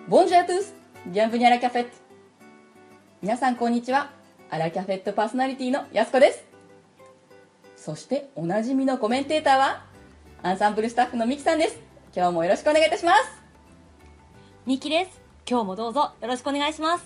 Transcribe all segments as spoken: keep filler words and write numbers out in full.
ボンジュアトゥース、ビアンブニアラキャフェット。皆さんこんにちは。アラキャフェットパーソナリティのやすこです。そしておなじみのコメンテーターはアンサンブルスタッフのミキさんです。今日もよろしくお願いいたします。 ミキです。今日もどうぞよろしくお願いします。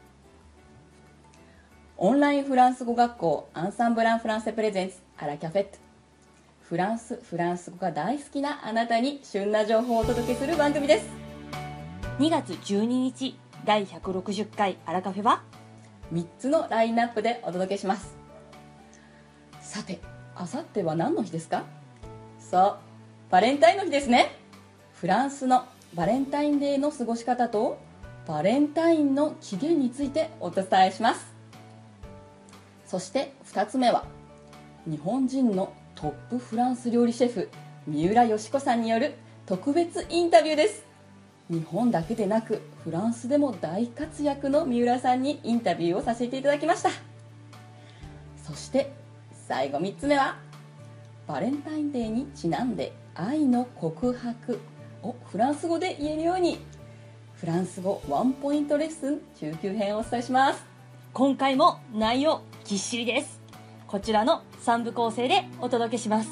オンラインフランス語学校アンサンブランフランセプレゼンツアラキャフェット。フランスフランス語が大好きなあなたに旬な情報をお届けする番組です。 にがつじゅうににちだいひゃくろくじゅっかいアラカフェはみっつのラインナップでお届けします。さて、あさっては何の日ですか？そう、バレンタインの日ですね。フランスのバレンタインデーの過ごし方とバレンタインの起源についてお伝えします。そしてふたつめは日本人のトップフランス料理シェフ三浦佳子さんによる特別インタビューです。日本だけでなくフランスでも大活躍の三浦さんにインタビューをさせていただきました。そして最後みっつめはバレンタインデーにちなんで愛の告白をフランス語で言えるようにフランス語ワンポイントレッスン中級編をお伝えします。 今回も内容ぎっしりです。こちらのさんぶ構成でお届けします。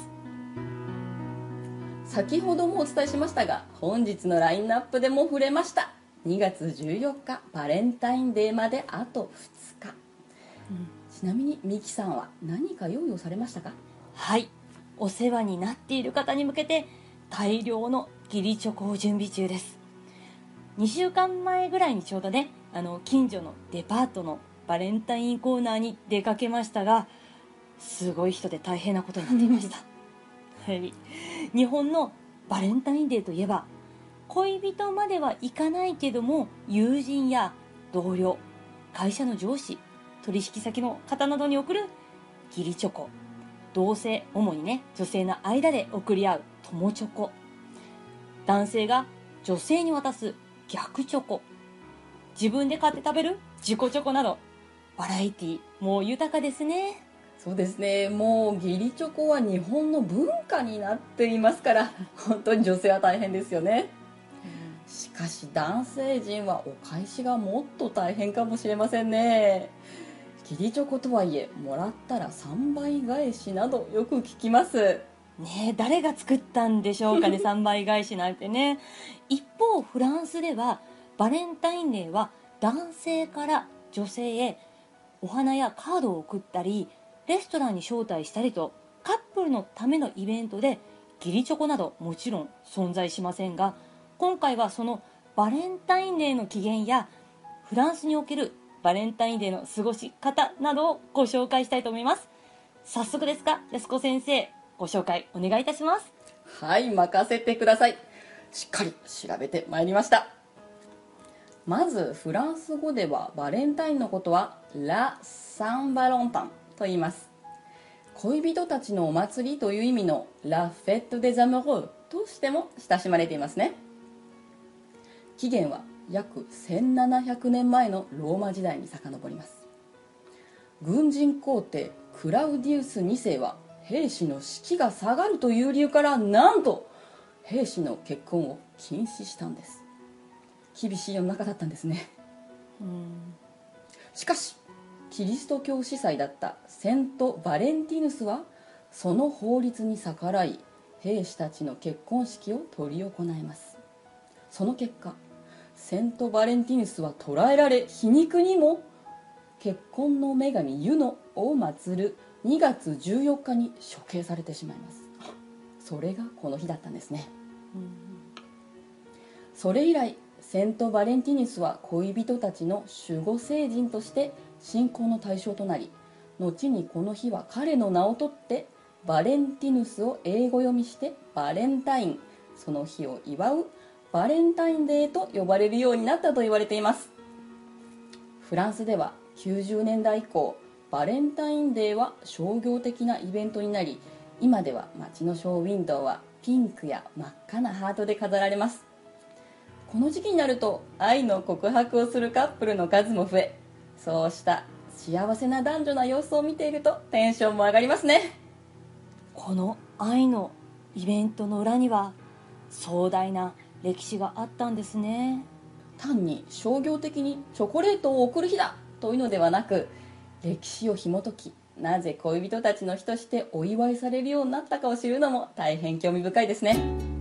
先ほどもお伝えしましたが本日のラインナップでも触れましたにがつじゅうよっかバレンタインデーまであとふつか、うん、ちなみにミキさんは何か用意をされましたか？ はい、お世話になっている方に向けて大量の義理チョコを準備中です。にしゅうかんまえぐらいにちょうどね、あの近所のデパートのバレンタインコーナーに出かけましたが、すごい人で大変なことになっていましたはい、日本のバレンタインデーといえば恋人まではいかないけども友人や同僚、会社の上司、取引先の方などに送る義理チョコ、同性、主にね女性の間で送り合う友チョコ、男性が女性に渡す逆チョコ、自分で買って食べる自己チョコなどバラエティもう豊かですね。 そうですね、もう義理チョコは日本の文化になっていますから本当に女性は大変ですよね、うん、しかし男性陣はお返しがもっと大変かもしれませんね。義理チョコとはいえもらったらさんばい返しなどよく聞きますね。誰が作ったんでしょうかねさんばい返しなんてね。一方フランスではバレンタインデーは男性から女性へお花やカードを送ったりレストランに招待したりとカップルのためのイベントで義理チョコなどもちろん存在しませんが、今回はそのバレンタインデーの起源やフランスにおけるバレンタインデーの過ごし方などをご紹介したいと思います。早速ですが安子先生、ご紹介お願いいたします。 はい、任せてください。しっかり調べてまいりました。まずフランス語ではバレンタインのことはラ・サン・バロンタンと言います。恋人たちのお祭りという意味のラ・フェット・デ・ザムローとしても親しまれていますね。起源は約せんななひゃくねんまえのローマ時代に遡ります。軍人皇帝クラウディウスにせいは兵士の士気が下がるという理由からなんと兵士の結婚を禁止したんです。厳しい世の中だったんですね。 うーんしかしキリスト教司祭だったセント・バレンティヌスはその法律に逆らい兵士たちの結婚式を執り行います。その結果セント・バレンティヌスは捕らえられ、皮肉にも結婚の女神ユノを祀るにがつじゅうよっかに処刑されてしまいます。それがこの日だったんですね。 うんそれ以来セント・バレンティヌスは恋人たちの守護聖人として信仰の対象となり、後にこの日は彼の名を取ってバレンティヌスを英語読みしてバレンタイン、その日を祝うバレンタインデーと呼ばれるようになったと言われています。フランスではきゅうじゅうねんだい以降バレンタインデーは商業的なイベントになり、今では街のショーウィンドウはピンクや真っ赤なハートで飾られます。この時期になると愛の告白をするカップルの数も増え、そうした幸せな男女な様子を見ているとテンションも上がりますね。 この愛のイベントの裏には壮大な歴史があったんですね。 単に商業的にチョコレートを贈る日だというのではなく、歴史を紐解き、なぜ恋人たちの日としてお祝いされるようになったかを知るのも大変興味深いですね。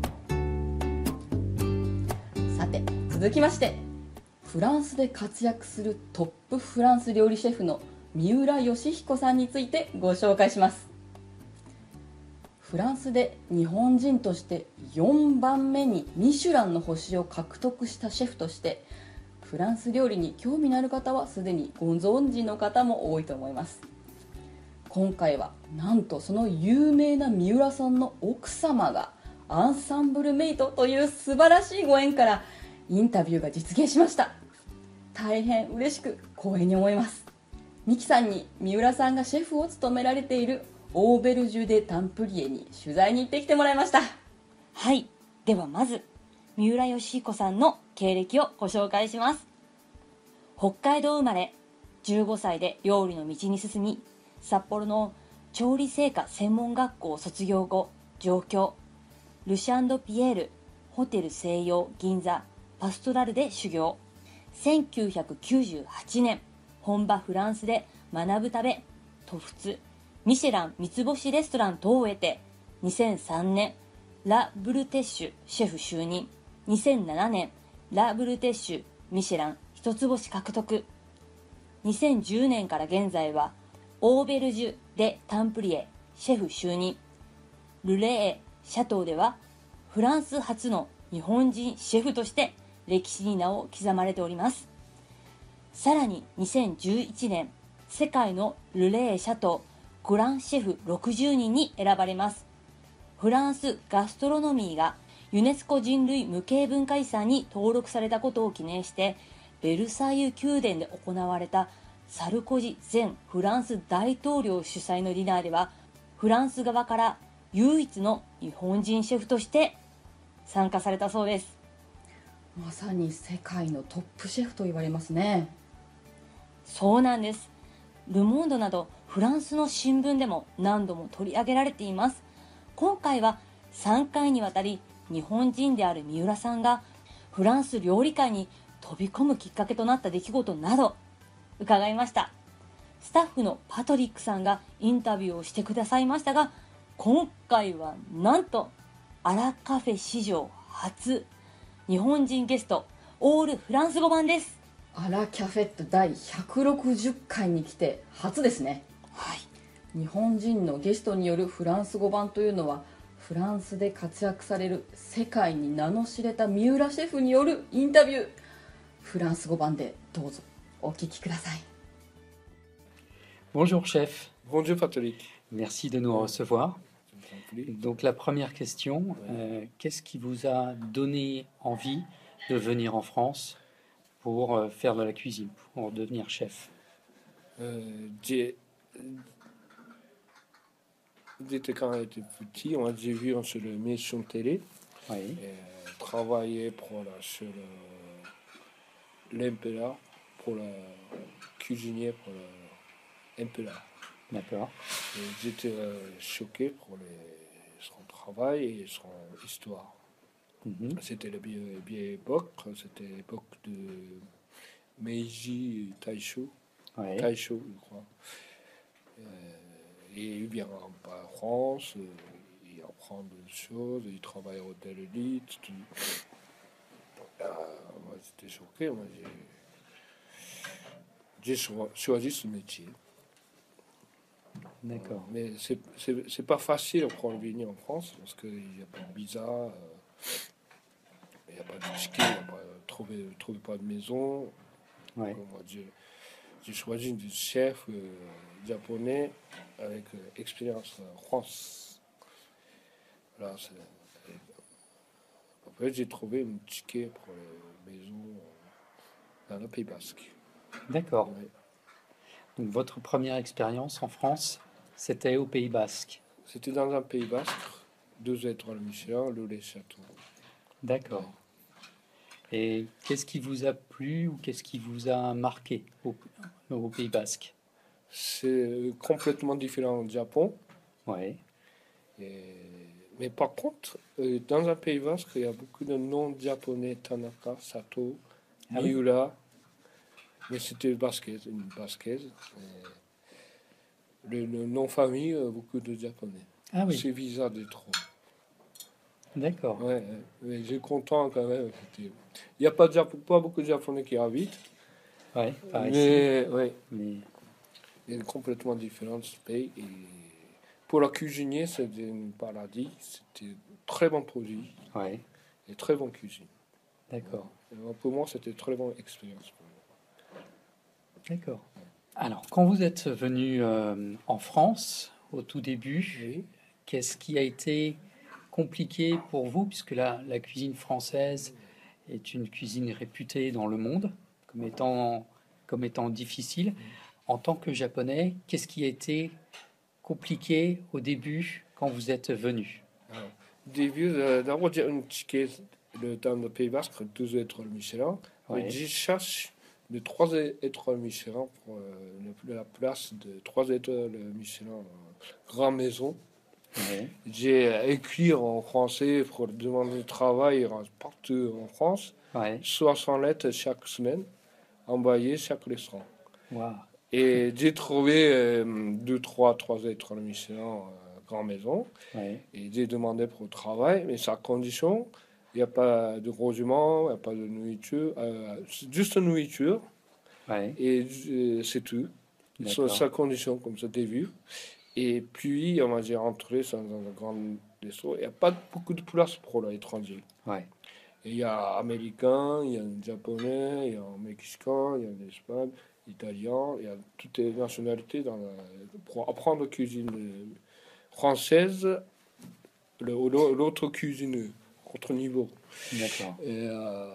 さて続きまして、フランスで活躍するトップフランス料理シェフの三浦義彦さんについてご紹介します。フランスで日本人としてよんばんめにミシュランの星を獲得したシェフとして、フランス料理に興味のある方はすでにご存知の方も多いと思います。今回はなんとその有名な三浦さんの奥様がアンサンブルメイトという素晴らしいご縁からインタビューが実現しました。大変嬉しく光栄に思います。ミキさんに三浦さんがシェフを務められているオーベルジュ・デ・タンプリエに取材に行ってきてもらいました。 はい、ではまず三浦義彦さんの経歴をご紹介します。北海道生まれ、じゅうごさいで料理の道に進み、札幌の調理製菓専門学校を卒業後上京、ルシャンド・ピエールホテル西洋銀座パストラルで修行。せんきゅうひゃくきゅうじゅうはちねん、本場フランスで学ぶため渡仏、ミシェラン三つ星レストラン等を得て、にせんさんねんラ・ブルテッシュシェフ就任、にせんななねんラ・ブルテッシュミシェラン一つ星獲得、にせんじゅうねんから現在はオーベルジュ・デ・タンプリエシェフ就任、ルレーシャトーではフランス初の日本人シェフとして歴史に名を刻まれております。さらににせんじゅういちねん、世界のルレーシャトーグランシェフろくじゅうにんに選ばれます。フランスガストロノミーがユネスコ人類無形文化遺産に登録されたことを記念して、ベルサイユ宮殿で行われたサルコジ前フランス大統領主催のディナーでは、フランス側から唯一の日本人シェフとして参加されたそうです。 まさに世界のトップシェフと言われますね。 そうなんです。ルモンドなどフランスの新聞でも何度も取り上げられています。今回はさんかいにわたり日本人である三浦さんがフランス料理界に飛び込むきっかけとなった出来事など伺いました。スタッフのパトリックさんがインタビューをしてくださいましたが、今回はなんとアラカフェ史上初、日本人ゲストオールフランス語版です。 アラキャフェット第ひゃくろくじゅっかいに来て初ですね。 はい、 日本人のゲストによるフランス語版というのは、フランスで活躍される世界に名の知れた三浦シェフによるインタビュー、フランス語版でどうぞお聞きください。 Bonjour chef, Bonjour Patrick. merci de nous recevoir. Je vous en prie. Donc la première question, euh, qu'est-ce qui vous a donné envie de venir en France pour euh, faire de la cuisine, pour devenir chef? Euh, j'ai- J'étais quand j'étais petit, on a j'ai vu sur l'émission télé, Oui, et, euh, travailler pour la, sur le- l'impéra, pour la cuisinier pour l'impéra. d'accord. Et j'étais euh, choqué pour les- son travail et son histoire. Mhm. C'était la vieille, vieille époque, c'était l'époque de Meiji Taisho. Ouais. Taisho, je crois. Euh, et il vient en en France, euh, il apprend des choses, il travaille au Hôtel Elite. Tout. Euh, moi, j'étais choqué. Moi, j'ai, j'ai cho- choisi ce métier. D'accord. Mais c'est, c'est, c'est pas facile pour venir en France parce qu'il n'y a pas de visa, euh, il n'y a pas de ticket, il n'y a pas, trouver, trouver pas de maison. Ouais. Donc, moi, j'ai, j'ai choisi un chef euh, japonais avec euh, expérience en France. Voilà, c'est, et après, j'ai trouvé un ticket pour les maisons dans le Pays Basque. D'accord. Ouais. Donc votre première expérience en France, c'était au Pays Basque. C'était dans un Pays Basque, deux étoiles Michelin, le les châteaux. D'accord. Et qu'est-ce qui vous a plu ou qu'est-ce qui vous a marqué au, au Pays Basque? C'est complètement différent du Japon. Ouais. Et- Mais par contre, euh, dans un Pays Basque, il y a beaucoup de noms japonais, Tanaka, Sato, Ah oui. Miura. Mais c'était basket, une basket. Et Le, le nom famille, euh, beaucoup de japonais. Ah oui, C'est visa de trop. d'accord. Ouais, ouais. Mais j'ai content quand même. c'était- Il n'y a pas, de Jap- pas beaucoup de japonais qui habitent. Ouais, par ici. Mais ouais, Mais il est complètement différent ce pays. Et pour la cuisinier, c'était un paradis. C'était très bon produit ouais, et très bonne cuisine. d'accord, Et moi, pour moi, c'était une très bonne expérience. pour moi. d'accord. Alors, quand vous êtes venu euh, en France au tout début, Oui. qu'est-ce qui a été compliqué pour vous, puisque la, la cuisine française est une cuisine réputée dans le monde comme étant, comme étant difficile. En tant que japonais, qu'est-ce qui a été compliqué au début quand vous êtes venu? Alors, début, euh, d'abord, j'ai un ticket le temps de Pays Basque, deux étoiles Michelin. Ouais. Mais je cherche de trois étoiles Michelin pour euh, le- la place de trois étoiles Michelin, euh, Grand Maison. Ouais, J'ai écrit en français pour demander du travail partout en France, ouais, soixante lettres chaque semaine, envoyées chaque restaurant. waouh, Et j'ai trouvé euh, deux, trois, trois étoiles Michelin, euh, Grand Maison. ouais, Et j'ai demandé pour le travail, mais sa condition, il n'y a pas de logement, il n'y a pas de nourriture, euh, c'est juste nourriture, ouais, et euh, c'est tout. Sa, d'accord, sa condition, comme ça, t'as vu. Et puis, on m'a dit rentrer dans un grand resto. Il n'y a pas beaucoup de place pour l'étranger. ouais, Et il y a américain, il y a un japonais, il y a un mexicain, il y a un espagnol, italien, il y a toutes les nationalités dans la- pour apprendre la cuisine euh, française, le- l'autre cuisine, autre niveau. d'accord, Et euh,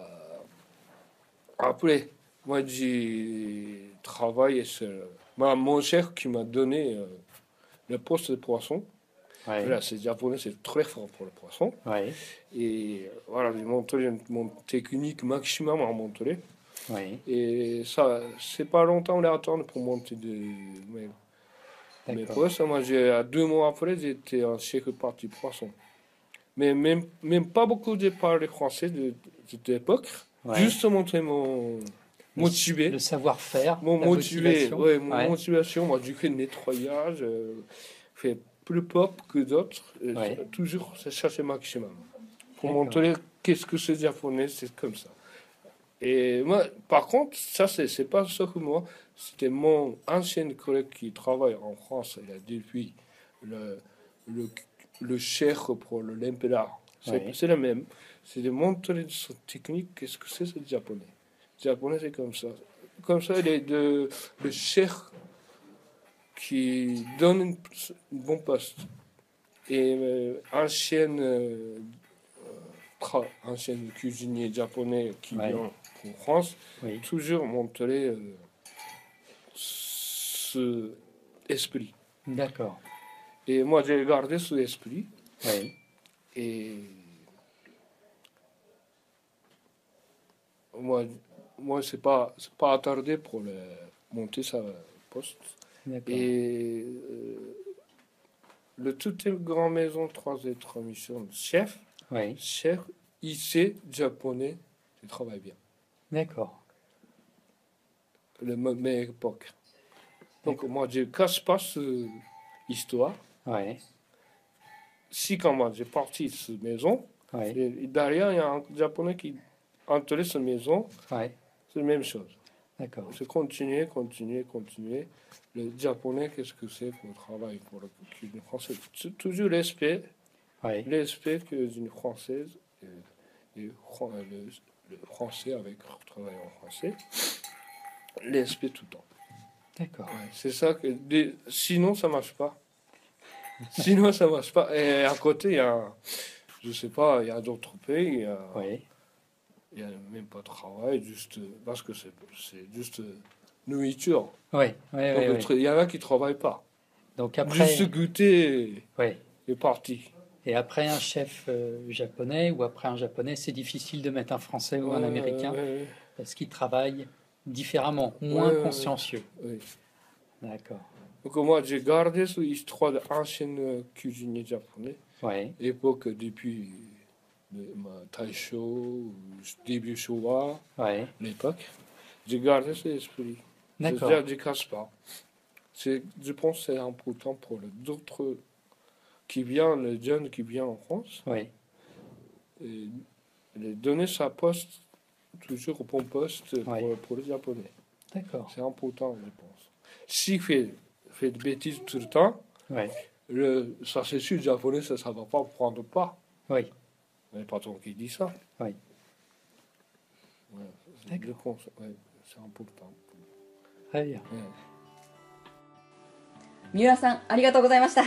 après, moi j'ai travaillé sur moi, mon chef qui m'a donné euh, le poste de poisson. ouais, Voilà, c'est japonais, c'est très fort pour le poisson. ouais, Et euh, voilà, j'ai montré mon technique maximum à montrer. ouais, Et ça, c'est pas longtemps on à attendre pour monter de mes, mes d'accord. postes. Moi, j'ai, à deux mois après, j'étais en chef parti poisson. Mais même, même pas beaucoup de parler français de, de cette époque. Ouais. Juste montrer mon Le- motivé. Le savoir-faire, Mon la motivé, motivation. ouais, mon Ouais, motivation. Moi, j'ai fait le nettoyage, euh, fait plus pop que d'autres. euh, Ouais. Toujours, c'est chercher maximum. Pour D'accord. montrer qu'est-ce que c'est japonais, c'est comme ça. Et moi, par contre, ça, c'est, c'est pas ça que moi. C'était mon ancien collègue qui travaille en France. Il a depuis le, le, le chef pour le l'impéra. C'est, Ouais. c'est le même. C'est de montrer sa technique, qu'est-ce que c'est, c'est japonais. Japonais, c'est comme ça. Comme ça, il est de, le chef qui donne une, une bonne poste. Et euh, ancien, euh, tra- ancien cuisinier japonais qui Ouais. vient en France, oui, toujours montrer euh, ce esprit. d'accord, Et moi, j'ai gardé ce esprit. oui, Et moi, moi c'est pas, c'est pas attardé pour le, monter sa poste. d'accord, Et euh, le toute grand maison trois étoiles mission chef, oui, chef, il sait japonais, il travaille bien. d'accord, Le me- meilleure époque. Donc moi, je casse pas cette histoire. ouais, Si quand moi j'ai parti de cette maison, ouais, et derrière il y a un japonais qui entrait cette maison, ouais, c'est la même chose. d'accord, C'est continuer, continuer, continuer. Le japonais, qu'est-ce que c'est pour le travail, pour la cuisine française? C'est toujours l'aspect, ouais, l'aspect que une française et, et fran- le, le français avec le travail en français, l'aspect tout le temps. d'accord, Ouais, c'est ça que des- sinon ça marche pas. Sinon ça marche pas. Et à côté il y a, je sais pas, il y a d'autres pays, il y a, oui, il y a même pas de travail, juste parce que c'est c'est juste nourriture. oui, oui, Donc oui, le oui. tra- il y en a qui travaillent pas. Donc après, Juste goûter ouais. et parti. Et après un chef euh, japonais ou après un japonais, c'est difficile de mettre un français ou un Ouais, américain ouais, ouais, parce qu'ils travaillent différemment, Ouais, moins ouais, ouais. consciencieux. ouais. D'accord. Donc moi j'ai gardé cette histoire d'ancien cuisinier japonais, Ouais, époque depuis de ma Taisho, début Showa, Ouais. l'époque. J'ai gardé cet esprit. D'accord. C'est-à-dire, je ne casse pas. C'est, je pense que c'est important pour les autres qui viennent, les jeunes qui viennent en France, Oui. et les donner sa poste, toujours au bon poste pour, Ouais. pour les Japonais. D'accord. C'est important, je pense. S'il fait, fait de bêtises tout le temps, Oui. le, ça c'est sûr, le Japonais, ça ne va pas prendre pas. Oui. Il n'y a pas tant qui dit ça. Oui. Ouais, c'est, D'accord. je pense, ouais, c'est important. Très bien. Ouais. 三浦さんありがとうございました。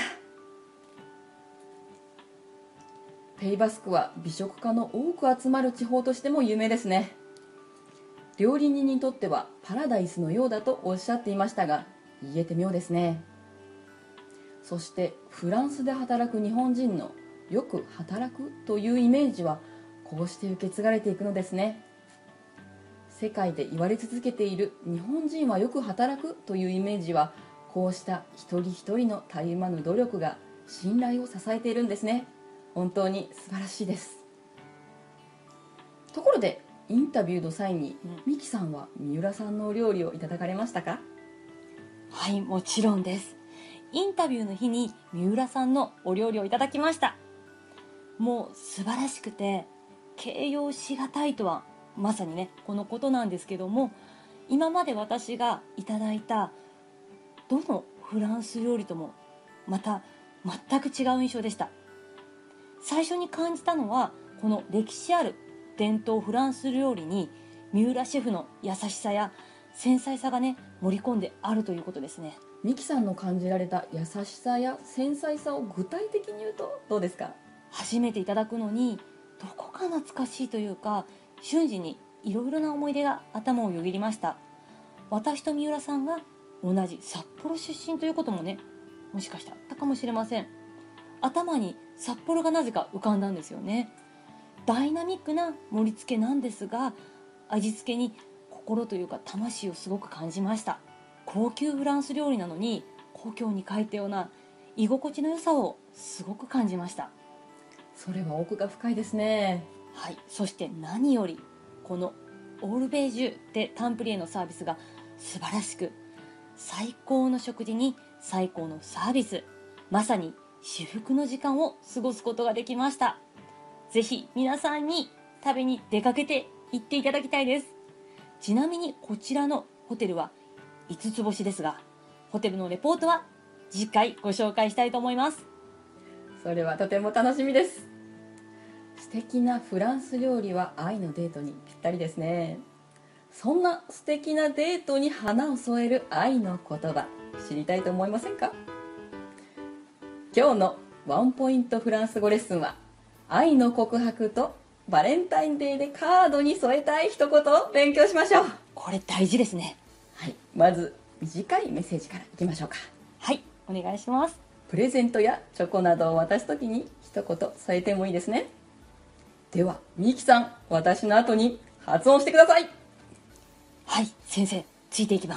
ペイバスクは美食家の多く集まる地方としても有名ですね。料理人にとってはパラダイスのようだとおっしゃっていましたが、言えて妙ですね。そしてフランスで働く日本人のよく働くというイメージはこうして受け継がれていくのですね。世界で言われ続けている日本人はよく働くというイメージは、こうした一人一人のたゆまぬ努力が信頼を支えているんですね。本当に素晴らしいです。ところでインタビューの際に、 うんミキさんは三浦さんのお料理をいただかれましたか？ はい、もちろんです。インタビューの日に三浦さんのお料理をいただきました。もう素晴らしくて形容しがたいとはまさにねこのことなんですけども、今まで私がいただいたどのフランス料理ともまた全く違う印象でした。最初に感じたのはこの歴史ある伝統フランス料理に三浦シェフの優しさや繊細さがね盛り込んであるということですね。 ミキさんの感じられた優しさや繊細さを具体的に言うとどうですか？ 初めていただくのにどこか懐かしいというか、瞬時にいろいろな思い出が頭をよぎりました。私と三浦さんが同じ札幌出身ということもね、もしかしたらあったかもしれません。頭に札幌がなぜか浮かんだんですよね。ダイナミックな盛り付けなんですが、味付けに心というか魂をすごく感じました。高級フランス料理なのに故郷に帰ったような居心地の良さをすごく感じました。 それは奥が深いですね。 はい、そして何よりこのオールベージュでタンプリエのサービスが素晴らしく、最高の食事に最高のサービス、まさに至福の時間を過ごすことができました。ぜひ皆さんに食べに出かけて行っていただきたいです。ちなみにこちらのホテルはいつつ星ですが、ホテルのレポートは次回ご紹介したいと思います。 それはとても楽しみです。素敵なフランス料理は愛のデートにぴったりですね。そんな素敵なデートに花を添える愛の言葉、知りたいと思いませんか？今日のワンポイントフランス語レッスンは、愛の告白とバレンタインデーでカードに添えたい一言を勉強しましょう。 これ大事ですね。 はい、まず短いメッセージからいきましょうか。 はい、お願いします。 プレゼントやチョコなどを渡すときに一言添えてもいいですね。ではミキさん、私の後に発音してください。 はい、先生、ついていきます。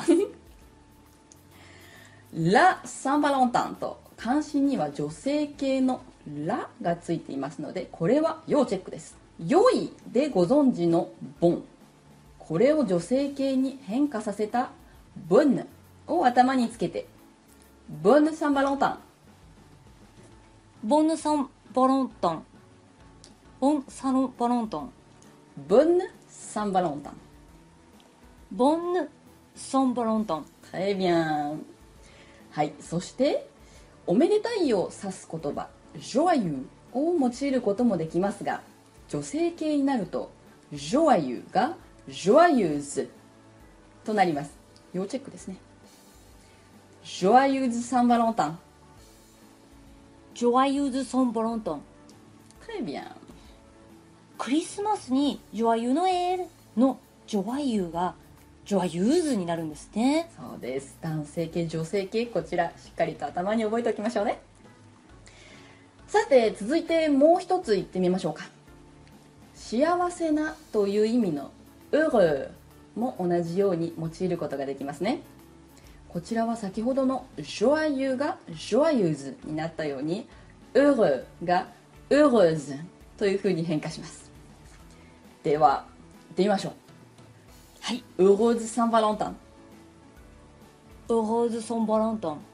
ラ・サンバロンタンと漢詩には女性系のラがついていますので、これは要チェックです。良いでご存知のボン、これを女性系に変化させたボンヌを頭につけて、ボンヌ・サンバロンタン、 ボンヌサンバロンタン、ボンサロンバロンタン、 ボンヌ・サンバロンタン。 ボンヌサンバロンタン。 très bien。はい、そしておめでたいを指す言葉ジョアユーを用いることもできますが、女性系になるとジョアユーがジョアユーズとなります。要チェックですね。ジョアユーズサンバロンタン。 ジョアユーズサンバロンタン。 très bien。 クリスマスにジョアユーノエールのジョアユーがジョアユーズになるんですね。 そうです。男性系女性系、こちらしっかりと頭に覚えておきましょうね。さて続いてもう一つ言ってみましょうか。幸せなという意味のheureuxも同じように用いることができますね。こちらは先ほどのjoyeuxがjoyeuseになったようにheureuxがheureuse というふうに変化します。では行ってみましょう。 はい。 ウローズ・サン・バレンタイン。 ウローズ・サン・バレンタイン。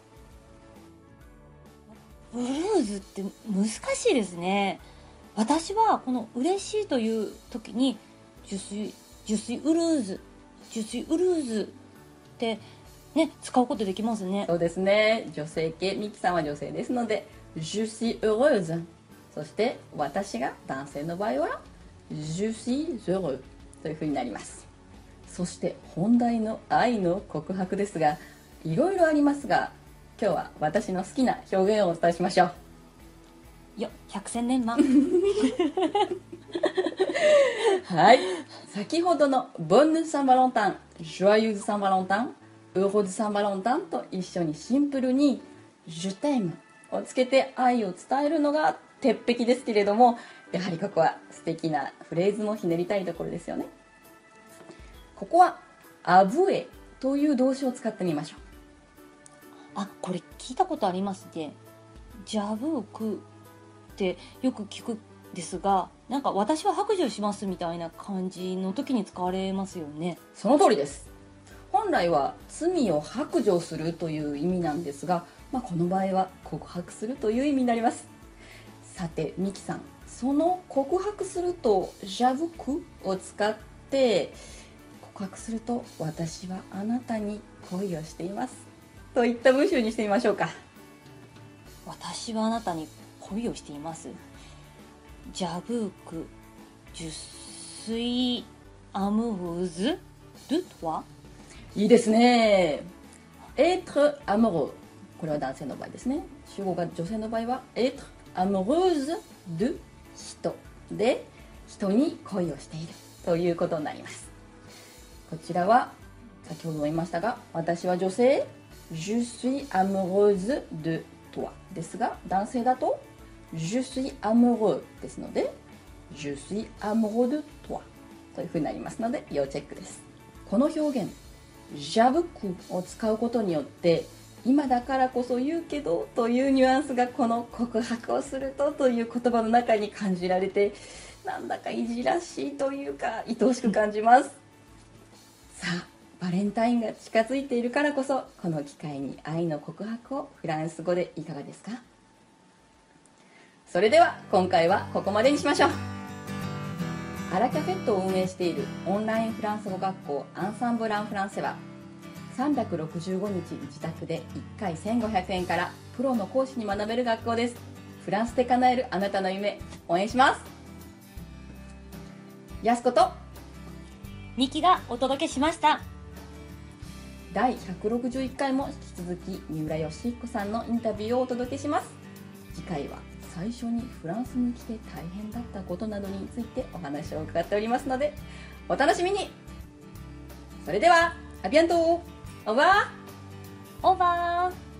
ブルーズって難しいですね。私はこの嬉しいという時にジュスイ、ジュスイウルーズ、ジュスイウルーズってね、使うことできますね。 そうですね。女性系、ミキさんは女性ですので、Je suis heureuse。そして私が男性の場合は、Je suis heureux というふうになります。そして本題の愛の告白ですが、いろいろありますが、今日は私の好きな表現をお伝えしましょう。 よ、百戦錬磨。 はい。先ほどの Bonne Saint Valentin、Joyeuse Saint Valentin、Heureuse Saint Valentin と一緒にシンプルに Je t'aime をつけて愛を伝えるのが鉄壁ですけれども、やはりここは素敵なフレーズもひねりたいところですよね。ここは Avouer という動詞を使ってみましょう。 あ、これ聞いたことありますね。ジャブークってよく聞くですが、なんか私は白状しますみたいな感じの時に使われますよね。 その通りです。本来は罪を白状するという意味なんですが、まあ、この場合は告白するという意味になります。さてミキさん、その告白するとジャブクを使って告白すると、私はあなたに恋をしていますといった文章にしてみましょうか。 私はあなたに恋をしています。ジャブーク、ジュスイアムウズドゥトワ。 いいですね。être amoureux、 これは男性の場合ですね。主語が女性の場合は être amoureuse de 人で、人に恋をしているということになります。こちらは先ほども言いましたが、私は女性 Je suis amoureuse de toi ですが、男性だと Je suis amoureux ですので Je suis amoureux de toi というふうになりますので、要チェックです。この表現ジャブクを使うことによって、今だからこそ言うけどというニュアンスがこの告白をするとという言葉の中に感じられて、なんだかいじらしいというか愛おしく感じます。さあバレンタインが近づいているからこそ、この機会に愛の告白をフランス語でいかがですか。それでは今回はここまでにしましょう。アラキャフェットを運営しているオンラインフランス語学校アンサンブランフランセは、さんびゃくろくじゅうごにち自宅でいっかいせんごひゃくえんからプロの講師に学べる学校です。フランスで叶えるあなたの夢、応援します。やすことミキがお届けしました。 だいひゃくろくじゅういっかいも引き続き三浦義彦さんのインタビューをお届けします。次回は最初にフランスに来て大変だったことなどについてお話を伺っておりますので、お楽しみに。それではアビアント、オーバー。 オーバー。